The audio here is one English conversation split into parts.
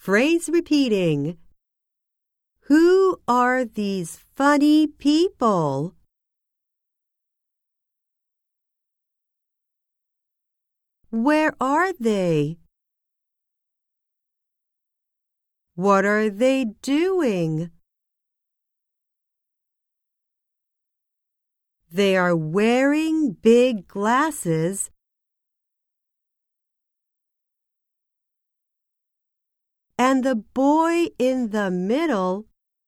Phrase repeating. Who are these funny people? Where are they? What are they doing? They are wearing big glasses and the boy in the middle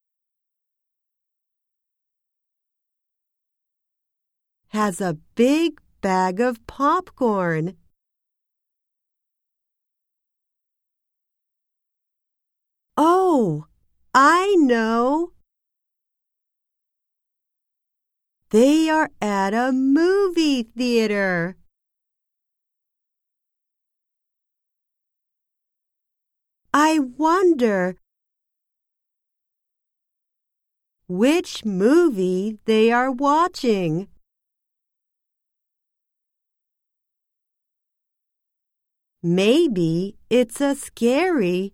has a big bag of popcorn. Oh, I know. They are at a movie theater. I wonder which movie they are watching. Maybe it's a scary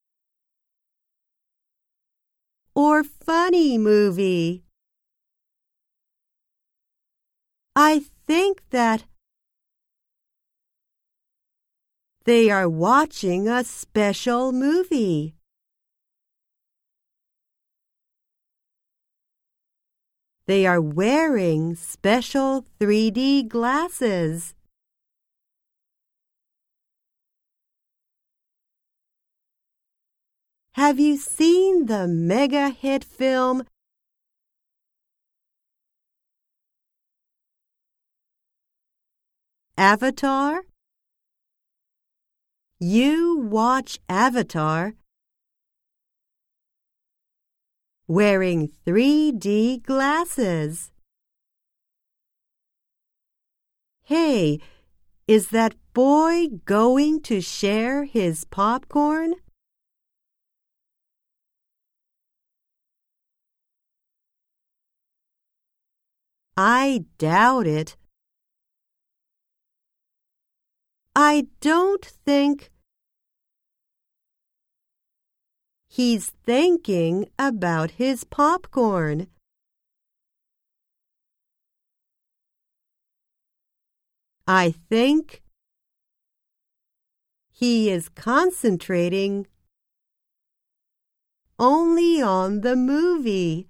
or funny movie. I think that they are watching a special movie. They are wearing special 3D glasses. Have you seen the mega hit film Avatar? You watch Avatar wearing 3D glasses. Hey, is that boy going to share his popcorn? I doubt it. I don't think he's thinking about his popcorn. I think he is concentrating only on the movie.